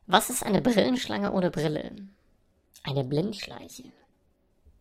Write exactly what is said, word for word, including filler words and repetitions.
Was ist eine Brillenschlange ohne Brille? Eine Blindschleiche.